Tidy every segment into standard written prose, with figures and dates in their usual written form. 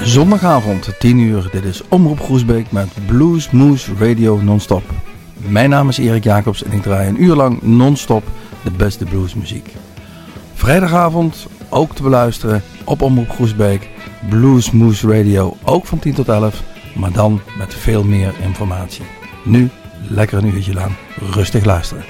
Zondagavond, 10 uur. Dit is Omroep Groesbeek met Blues Moose Radio non-stop. Mijn naam is Erik Jacobs en ik draai een uur lang non-stop de beste bluesmuziek. Vrijdagavond ook te beluisteren op Omroep Groesbeek. Blues Moose Radio, ook van 10 tot 11, maar dan met veel meer informatie. Nu lekker een uurtje lang rustig luisteren.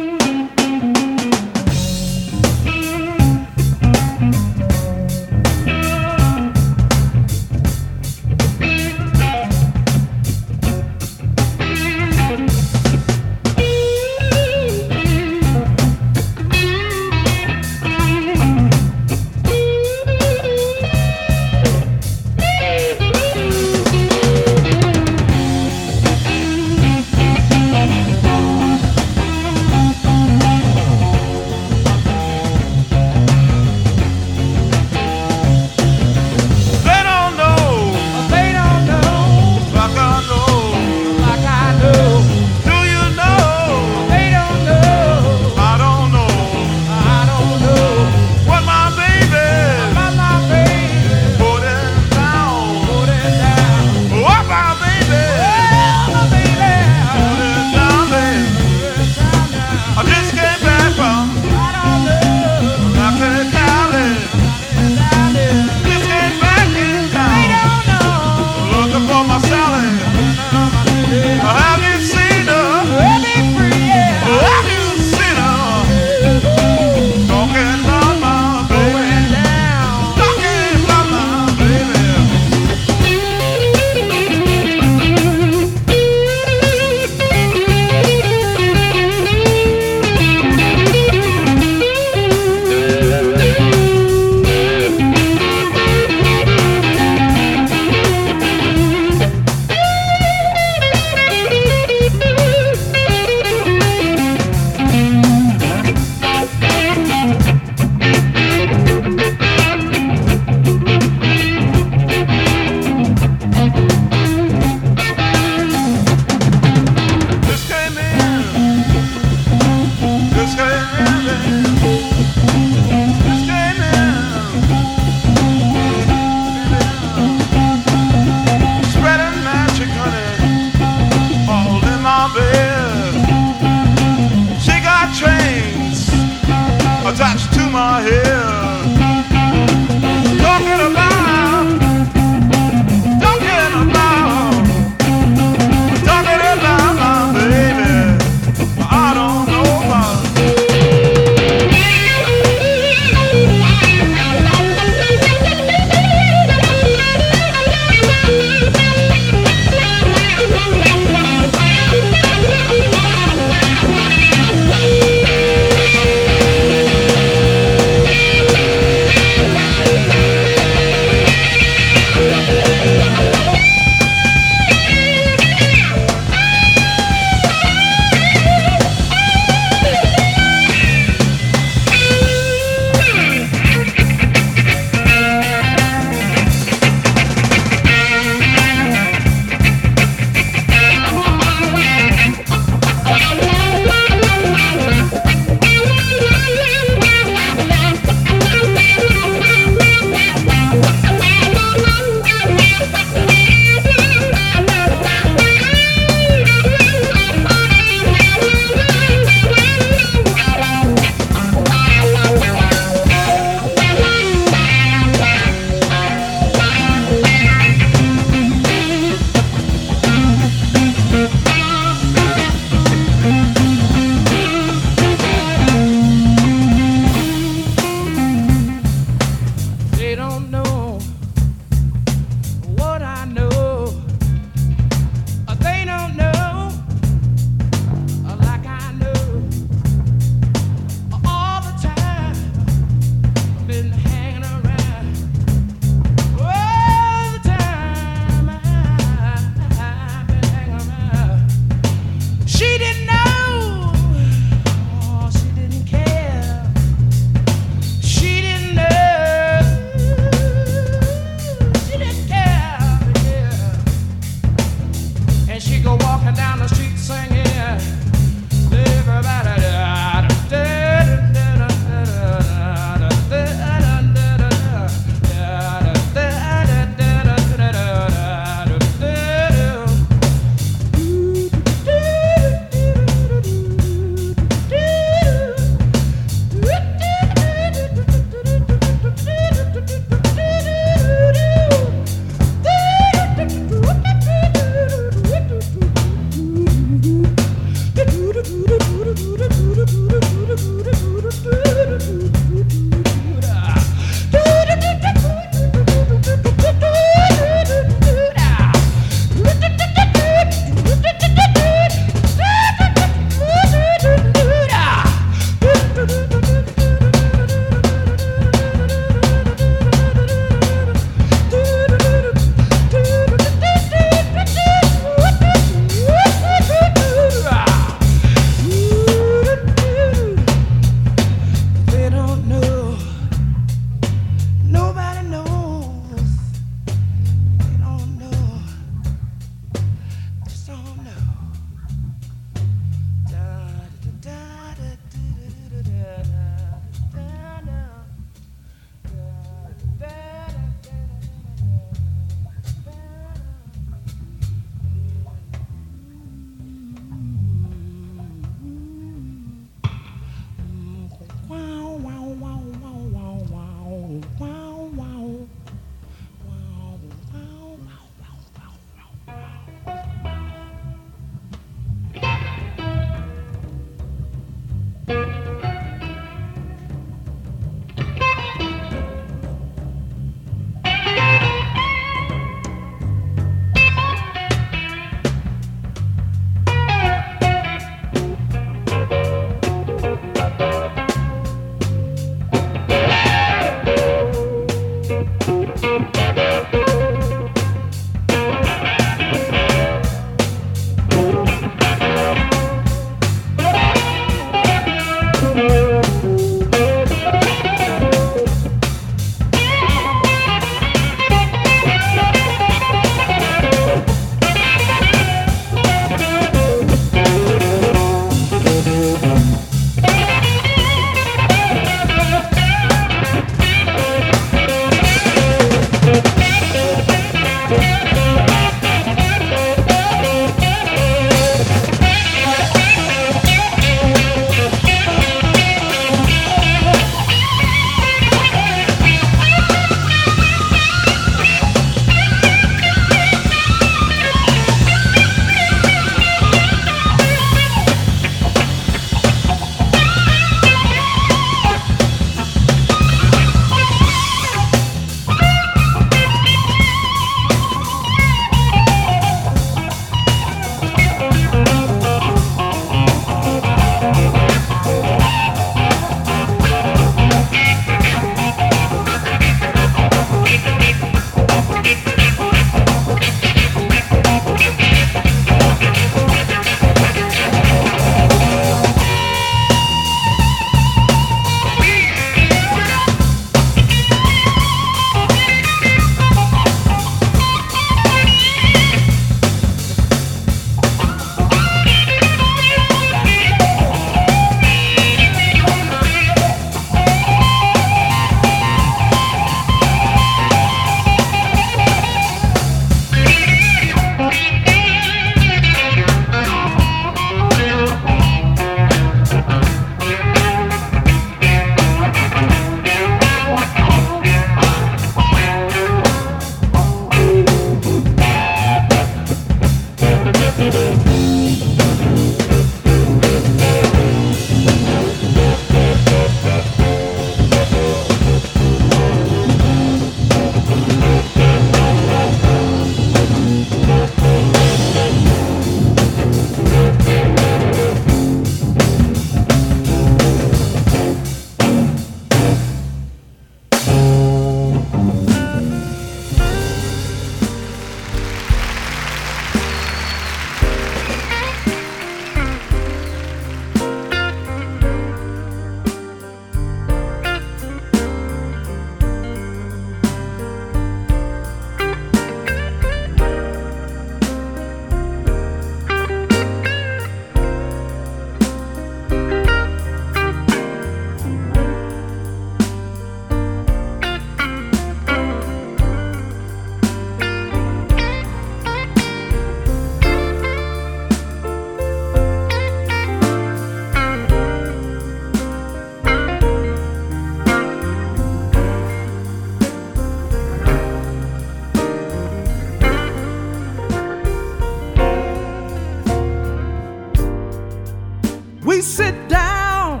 We sit down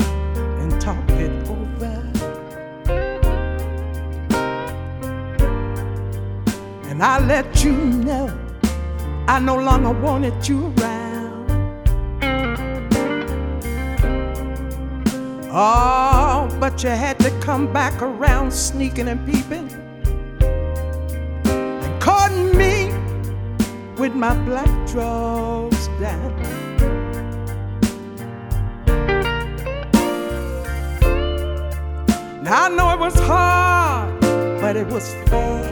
and talk it over, and I let you know I no longer wanted you around. Oh, but you had to come back around, sneaking and peeping and caught me with my black drawers down. Now I know it was hard, but it was fair.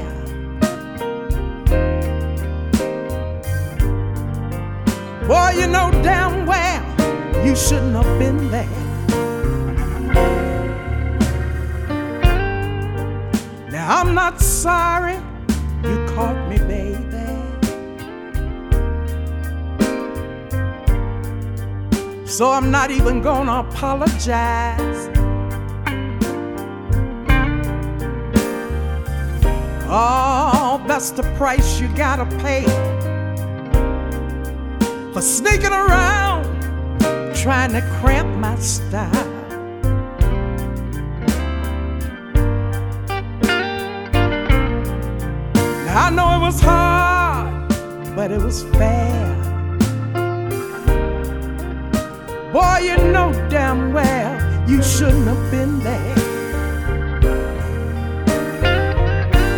Boy, you know damn well you shouldn't have been there. Now I'm not sorry you caught me, baby. So I'm not even gonna apologize. Oh, that's the price you gotta pay for sneaking around, trying to cramp my style. Now I know it was hard, but it was fair. Boy, you know damn well you shouldn't have been there.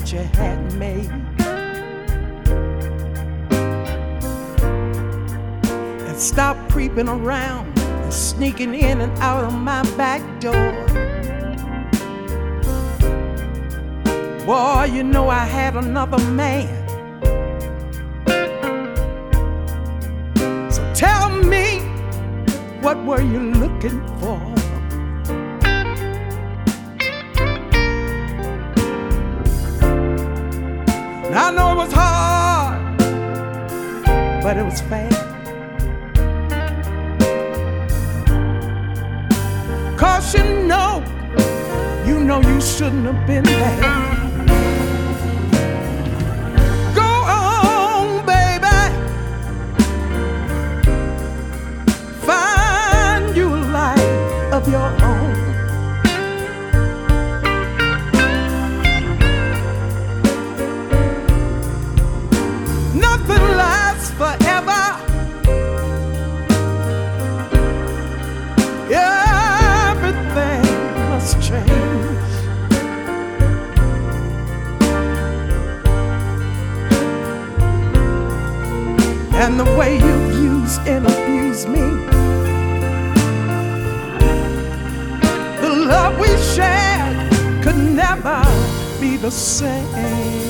that you had made. And stop creeping around and sneaking in and out of my back door. Boy, you know I had another man. So tell me, what were you looking for? I know it was hard, but it was fair. 'Cause you know you shouldn't have been there. Go on, baby. Find you a life of your own. Nothing lasts forever. Everything must change. And the way you've used and abused me, the love we shared could never be the same.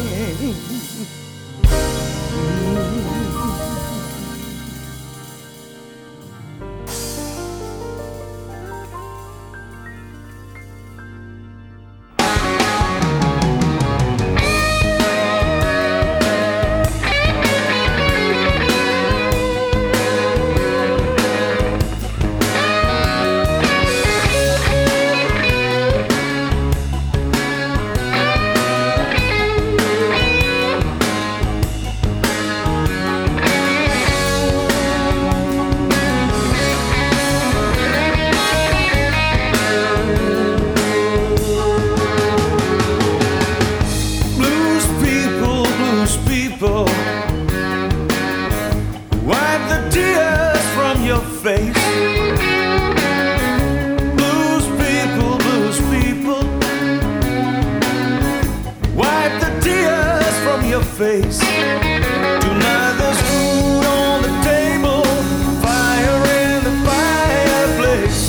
Face. Tonight there's food on the table, fire in the fireplace.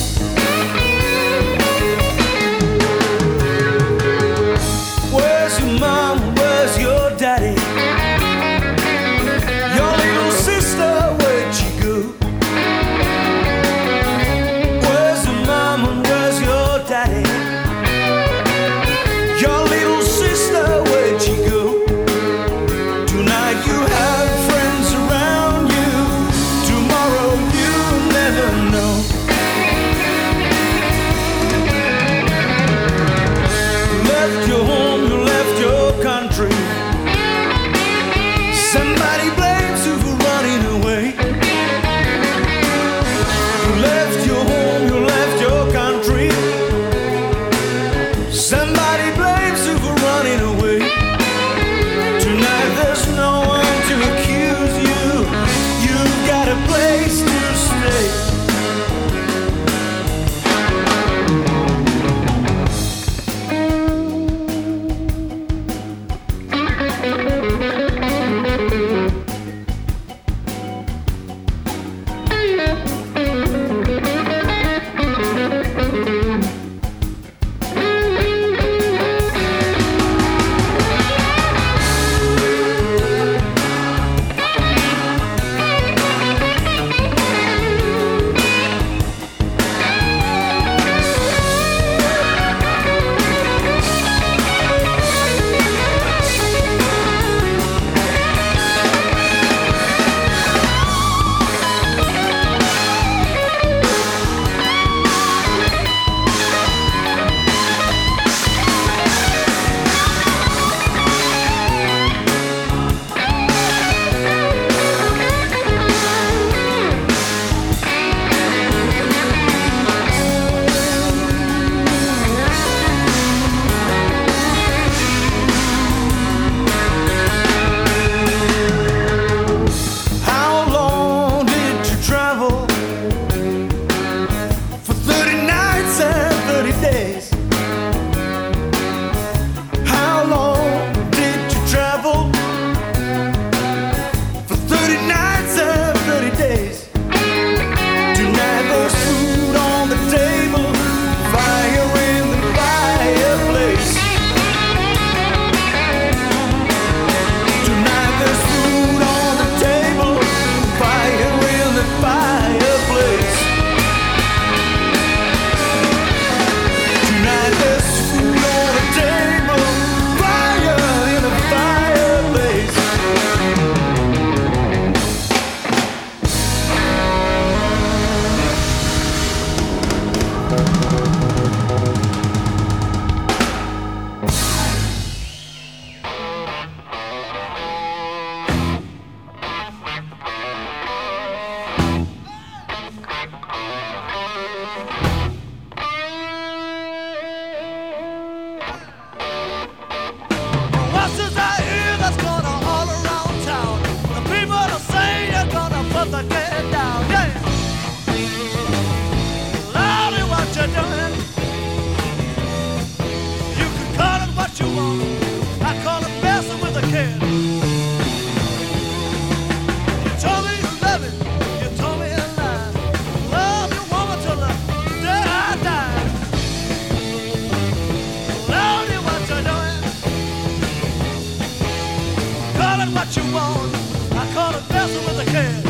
Where's your mom? Where's your daddy? Your little sister, where'd she go? Where's your mom and where's your daddy? Your little sister, where'd she go? You kid. You told me you love it, you told me a lie. Love your woman till the day I die. Love you what you're doing. Call it what you want. I call it messing with the kid.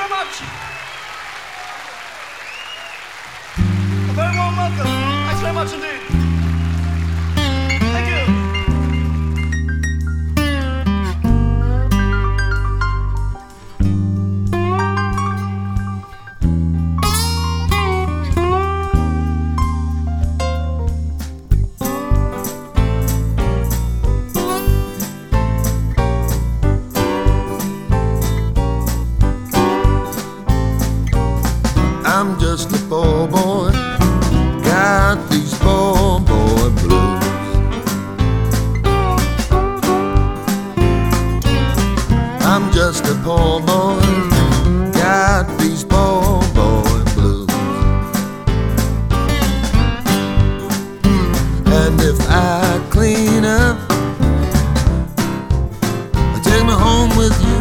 very much. A very warm welcome. Thanks very much indeed. Thank you. I'm just a poor boy, got these poor boy blues. I'm just a poor boy, got these poor boy blues. And if I clean up, take me home with you.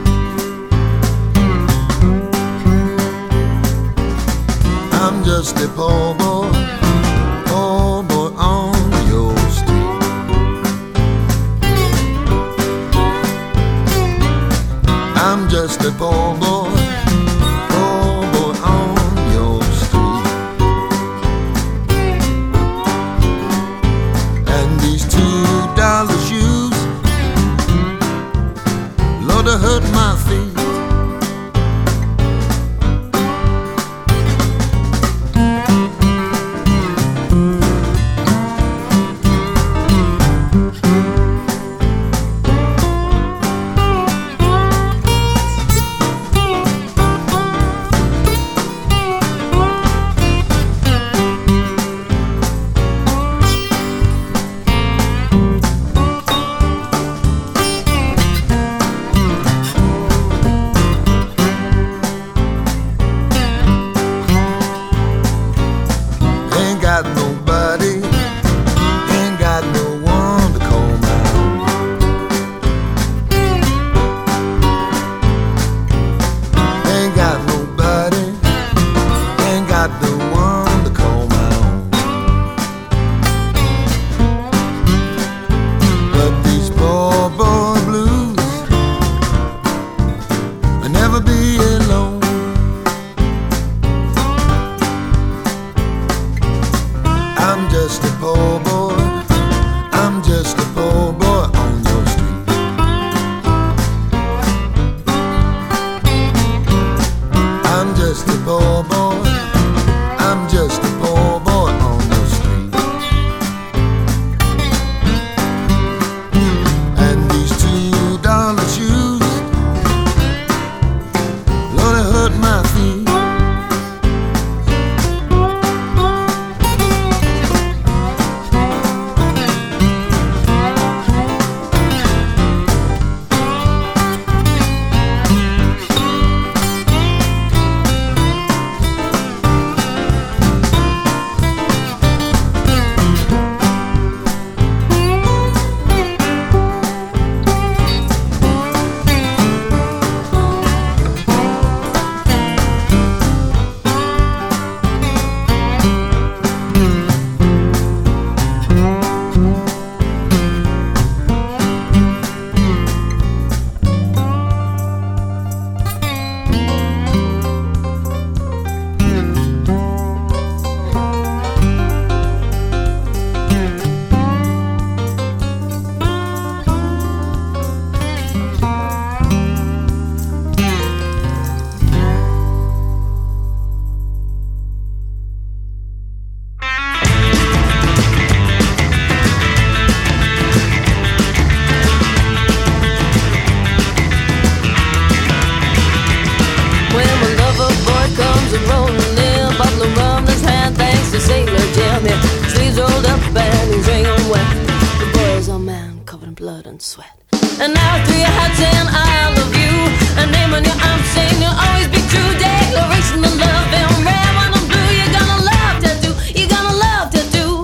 I'm just a poor boy on your street. I'm just a poor boy on your street. And these $2 shoes, Lord, they hurt my feet. And now through your heart saying I love you, a name on your arm saying you'll always be true. Declaration of love and red, when I'm blue, you're gonna love tattoo. You're gonna love tattoo.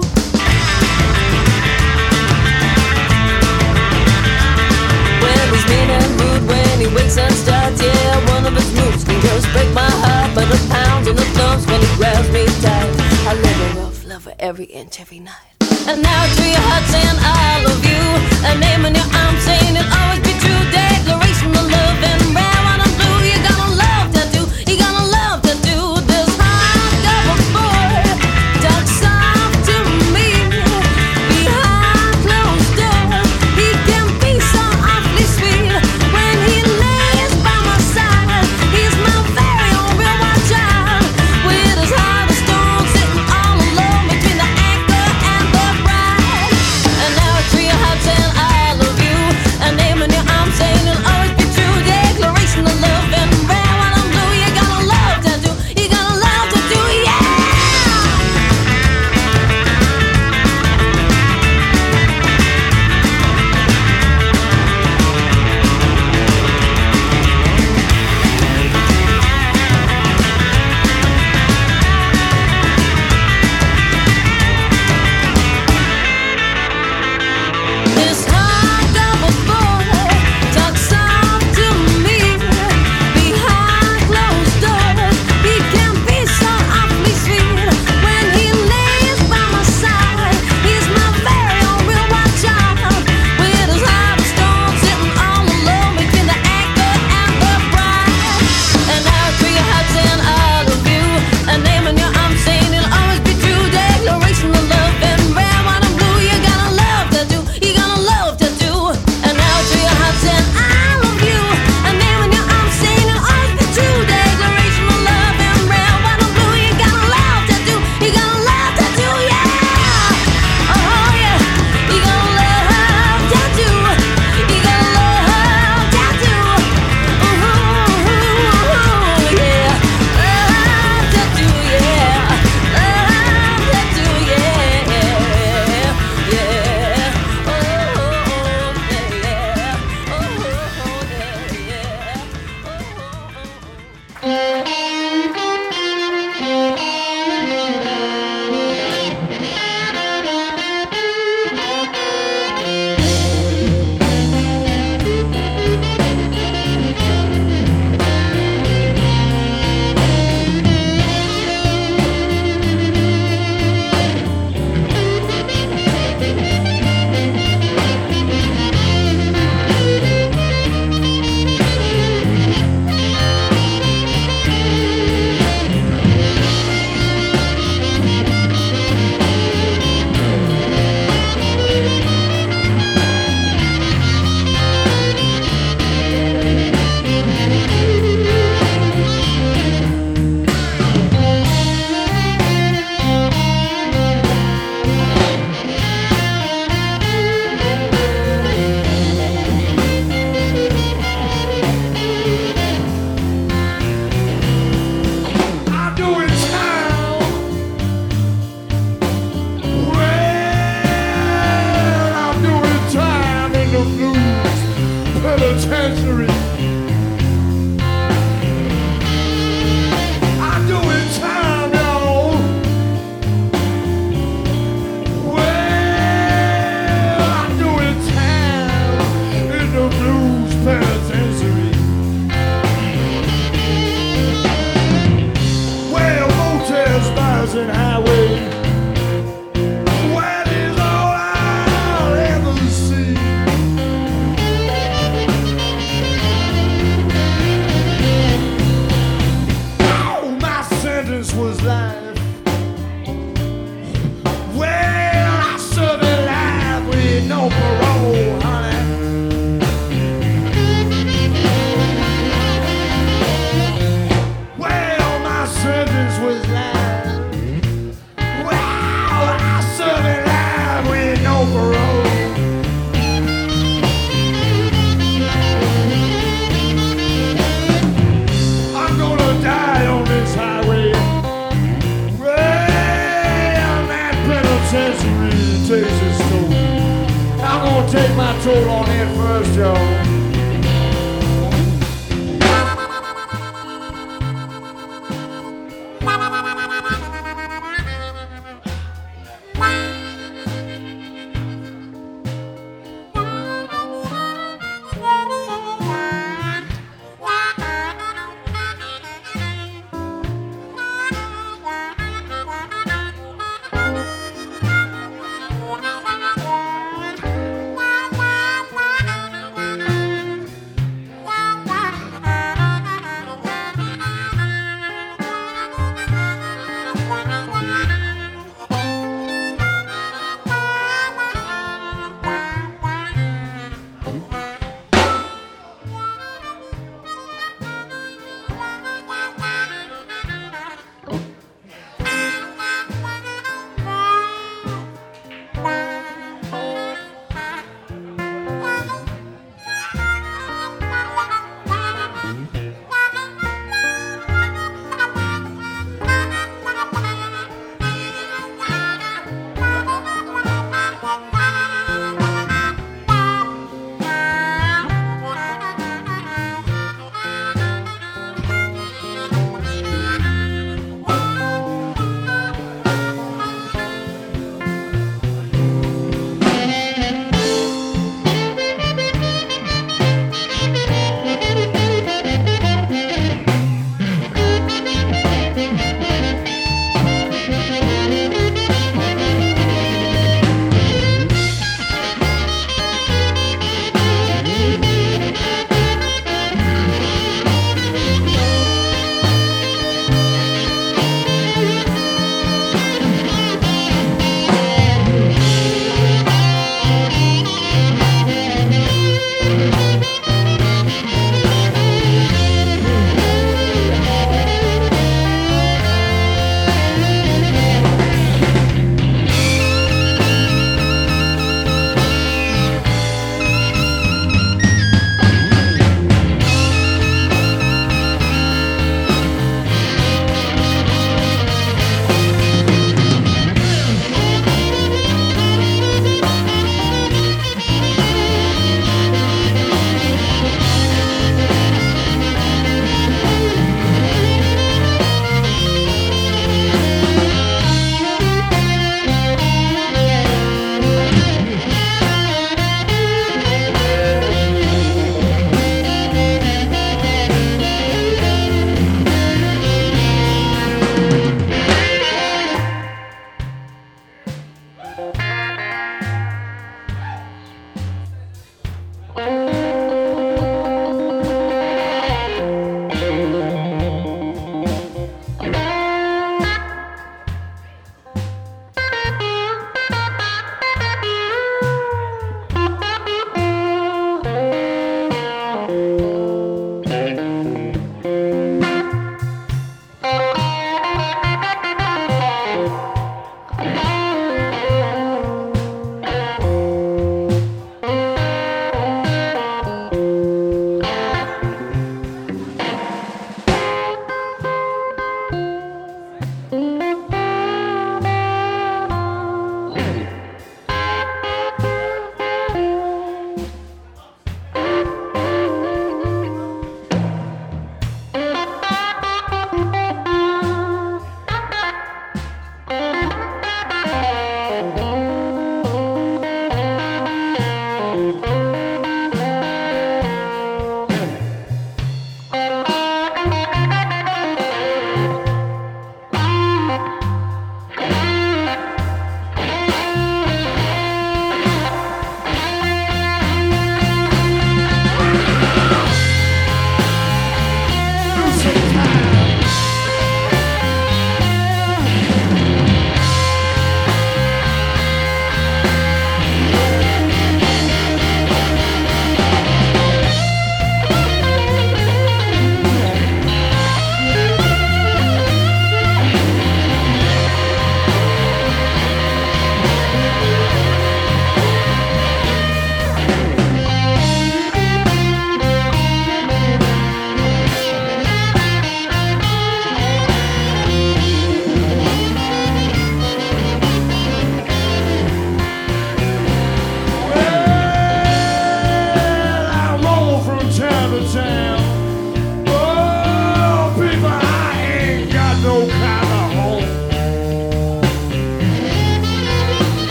When he's mean and rude, when he wakes and starts, yeah, one of his moves can just break my heart. But the pounds and the thumps when he grabs me tight, I live a rough lover every inch, every night. And now through your heart saying I love you, a name on your arm saying it'll always be true. Declaration of love and red, when I'm blue, you're gonna love tattoo. take my toll on it first, y'all.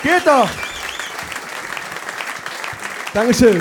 Geht doch. Dankeschön.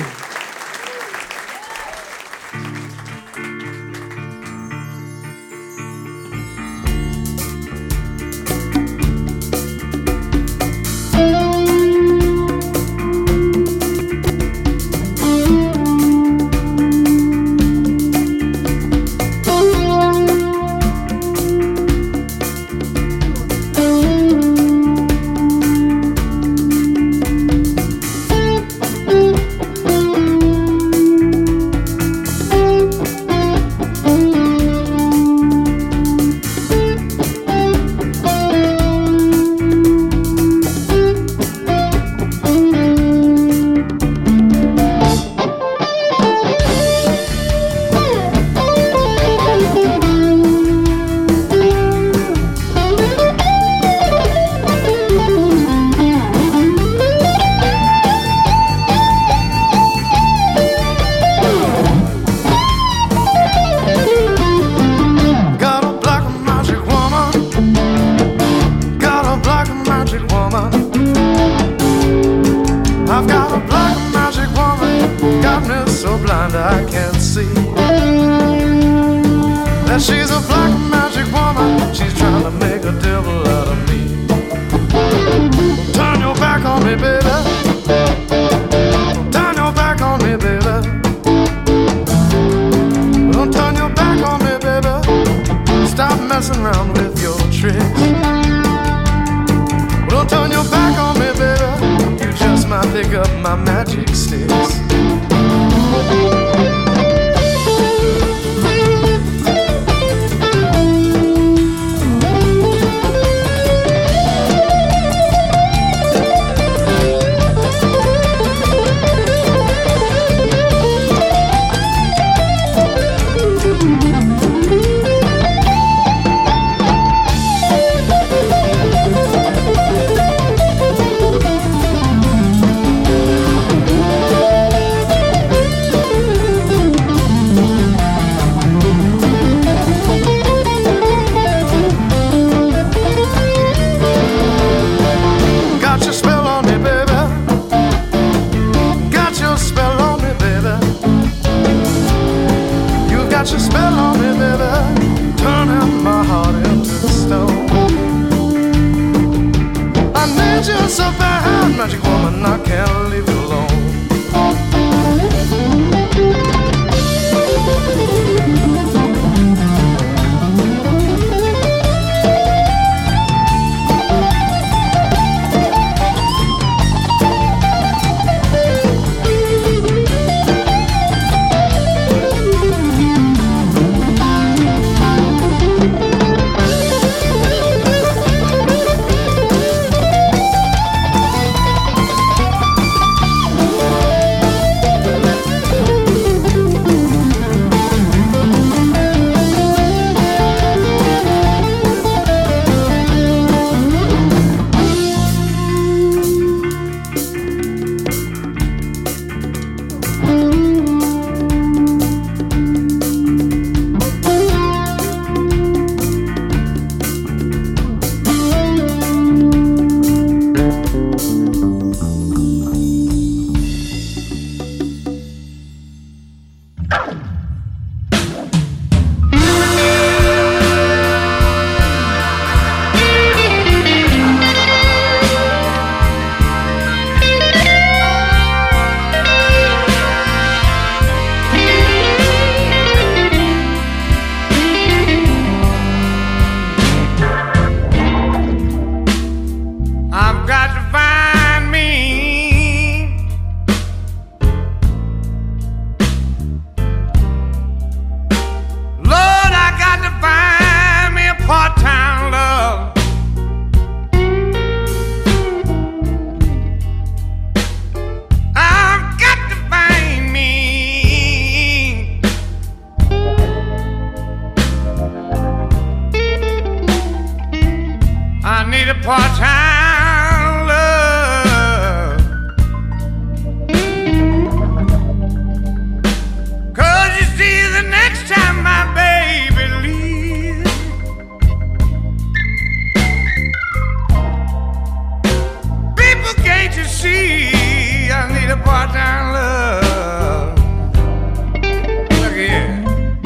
Can't you see I need a part-time love? Look here.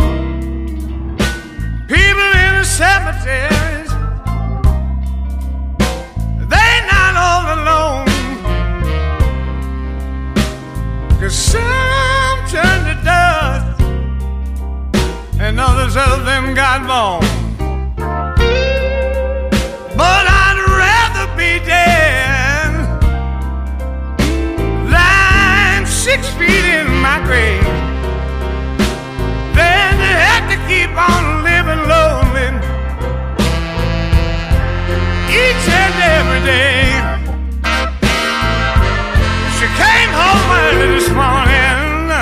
People in the cemeteries, they're not all alone. 'Cause some turn to dust and others of them got bone. But I'd rather be dead, lying 6 feet in my grave, than to have to keep on living lonely each and every day. She came home early this morning,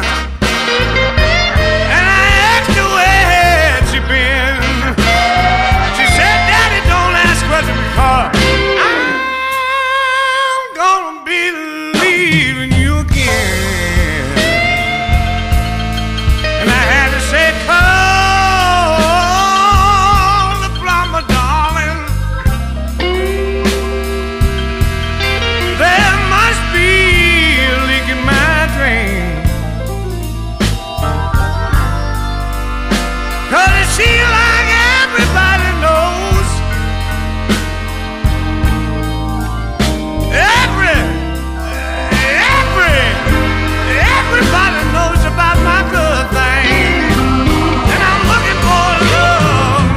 and I asked her where had she been. She said, Daddy, don't ask questions because I'm gonna be leaving you again. And I had to say, call the plumber, darling. There must be a leak in my drain. 'Cause it seems like everybody knows, everybody knows about my good thing, and I'm looking for love.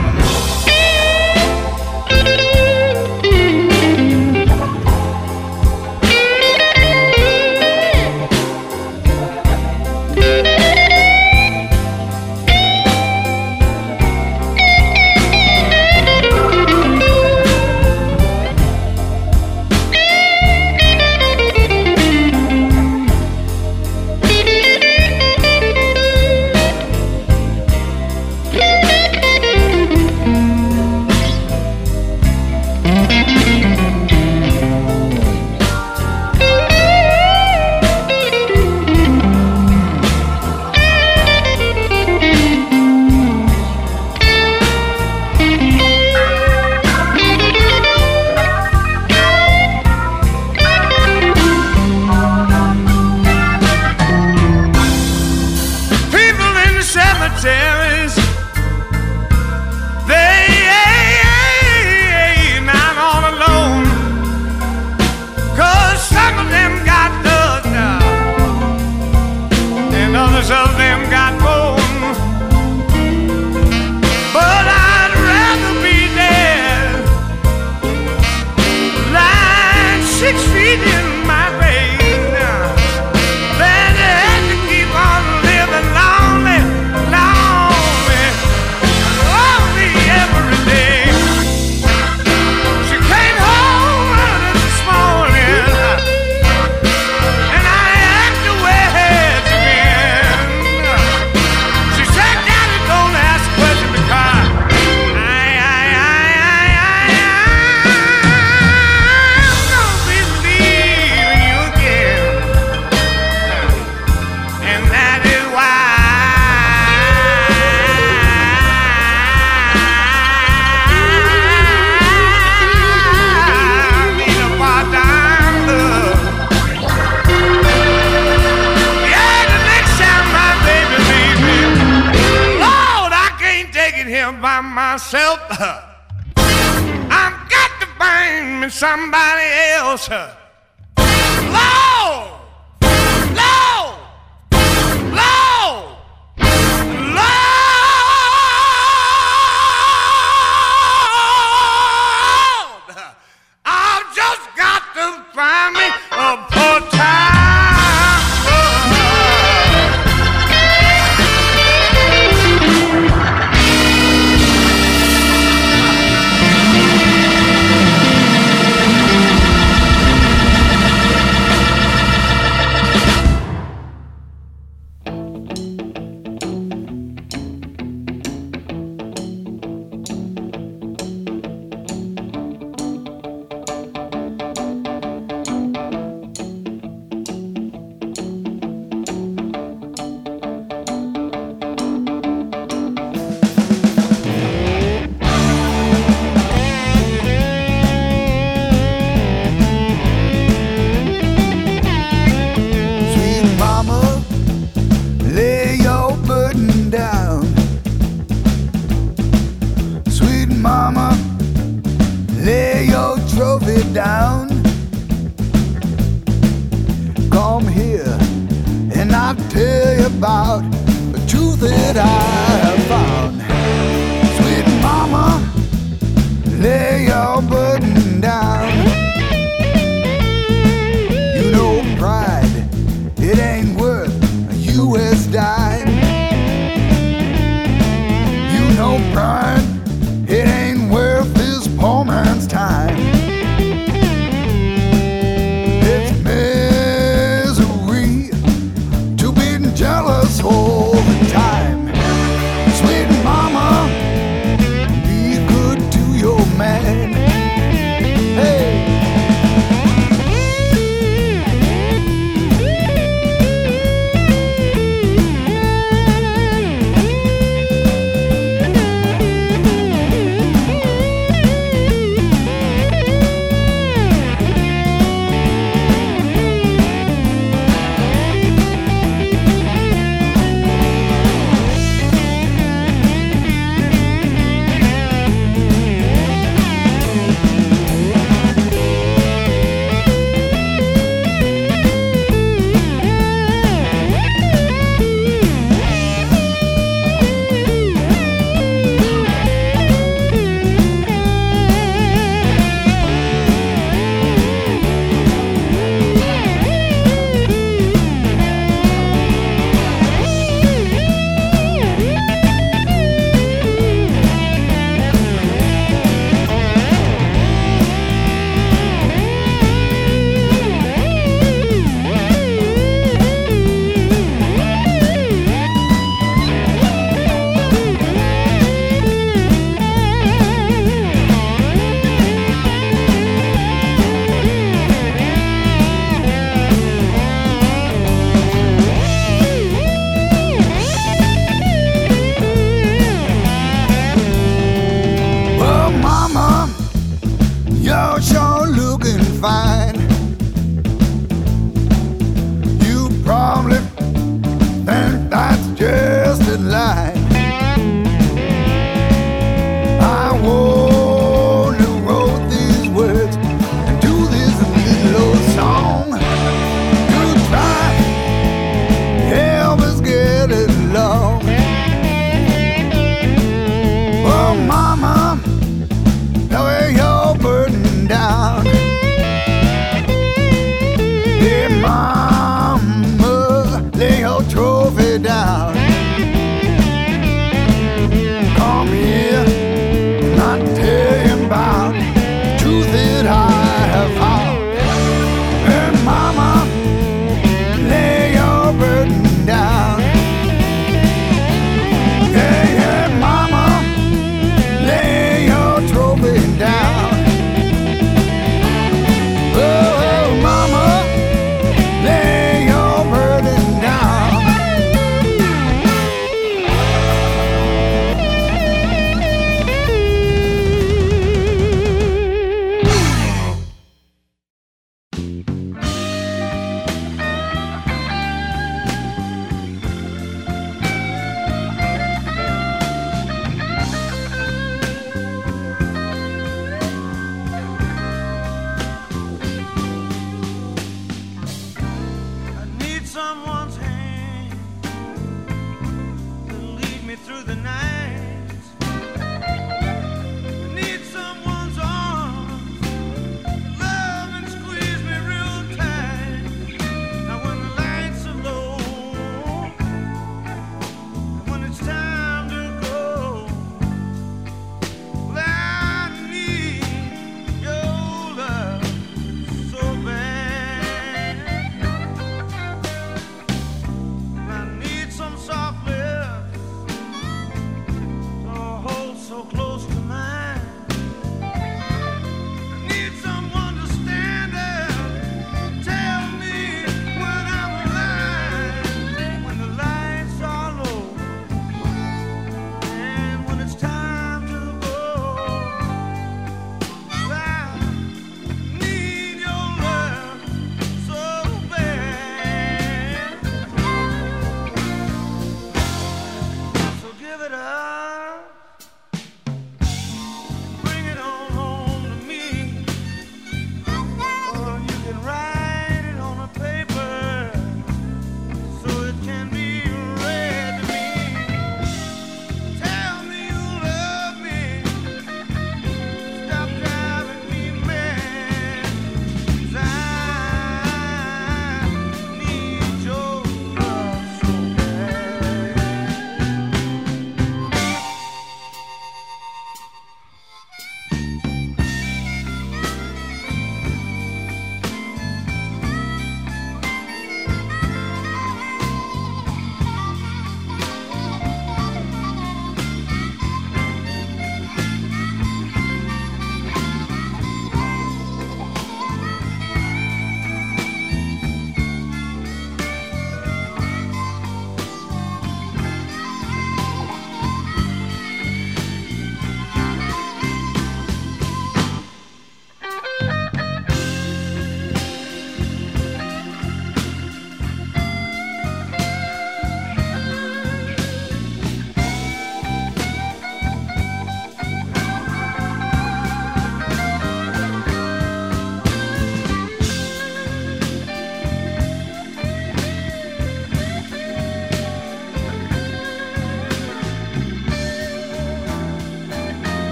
People in the cemeteries, they ain't not all alone. 'Cause some of them got dust now, and others of them got bone. But I'd rather be dead, lying 6 feet in my grave now, than to have to keep on living lonely, lonely, lonely every day. She came home early this morning, and I asked her where had she been. She said, Daddy, don't ask questions because I'm gonna be leaving you again. And that is why I need a part-time love. Yeah, the next time my baby leaves me, Lord, I can't take it here by myself. I've got to find me somebody else. Lord! Lord! Lord! Lord! I've just got to find me a part-time love. it down. Come here and I'll tell you about the truth that I have found. Sweet mama, lay your burden down. You know pride, it ain't worth a US dime. You know pride, it ain't worth this poor man's time. It's misery to be jealous all the time. Sweet mama, be good to your man. Hey. You're sure looking fine.